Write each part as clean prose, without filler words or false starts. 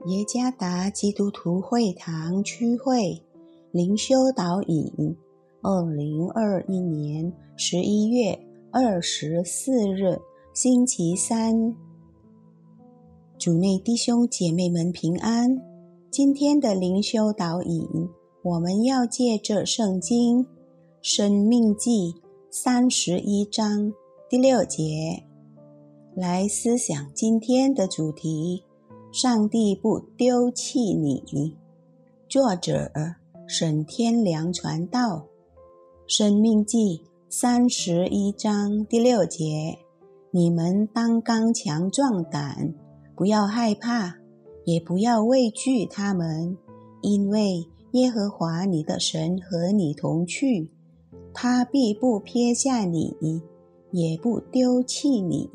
耶加达基督徒会堂区会灵修导引2021年11月24日星期三。主内弟兄姐妹们平安。今天的灵修导引，我们要借着圣经申命记31章第6节来思想今天的主题：上帝不丢弃你。作者沈天良传道。申命记31章第6节，你们当刚强壮胆，不要害怕，也不要畏惧他们，因为耶和华你的神和你同去，他必不撇下你，也不丢弃你。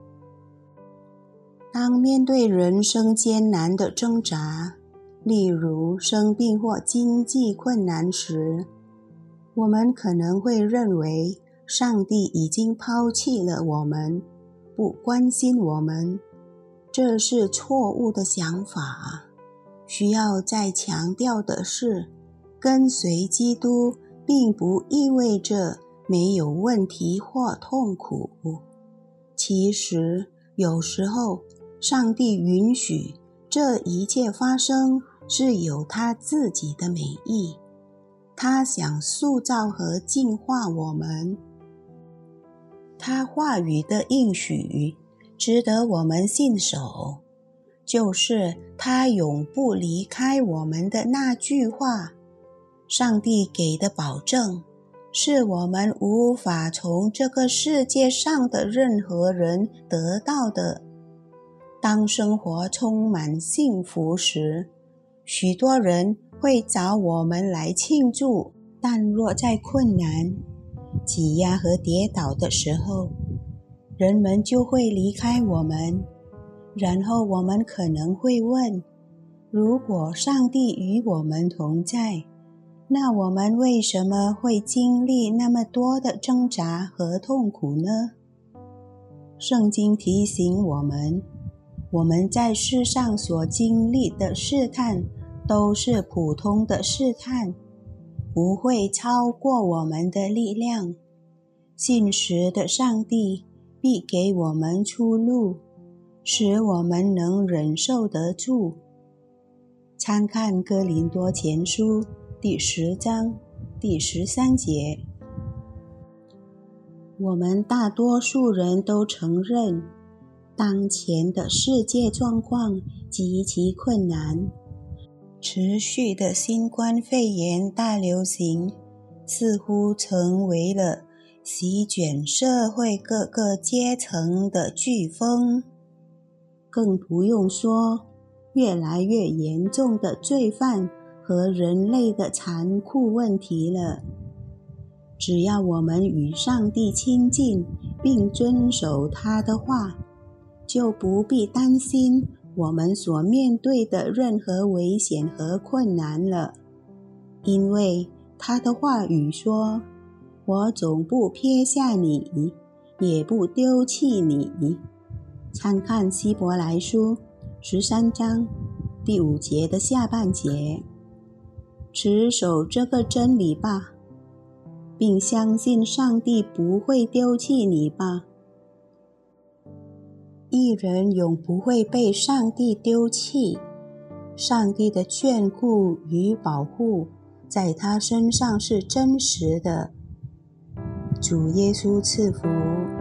当面对人生艰难的挣扎，例如生病或经济困难时，我们可能会认为上帝已经抛弃了我们，不关心我们。这是错误的想法。需要再强调的是，跟随基督并不意味着没有问题或痛苦。其实有时候上帝允许这一切发生，是有他自己的美意，他想塑造和净化我们。他话语的应许值得我们信守，就是他永不离开我们的那句话。上帝给的保证是我们无法从这个世界上的任何人得到的。当生活充满幸福时，许多人会找我们来庆祝，但若在困难、挤压和跌倒的时候，人们就会离开我们。然后我们可能会问，如果上帝与我们同在，那我们为什么会经历那么多的挣扎和痛苦呢？圣经提醒我们在世上所经历的试探都是普通的试探，不会超过我们的力量。信实的上帝必给我们出路，使我们能忍受得住。参看哥林多前书第10章第13节。我们大多数人都承认，当前的世界状况极其困难。持续的新冠肺炎大流行似乎成为了席卷社会各个阶层的飓风，更不用说越来越严重的罪犯和人类的残酷问题了。只要我们与上帝亲近，并遵守他的话，就不必担心我们所面对的任何危险和困难了。因为他的话语说，我总不撇下你，也不丢弃你。参看希伯来书13章第5节的下半节。持守这个真理吧，并相信上帝不会丢弃你吧。义人永不会被上帝丢弃，上帝的眷顾与保护在他身上是真实的。主耶稣赐福。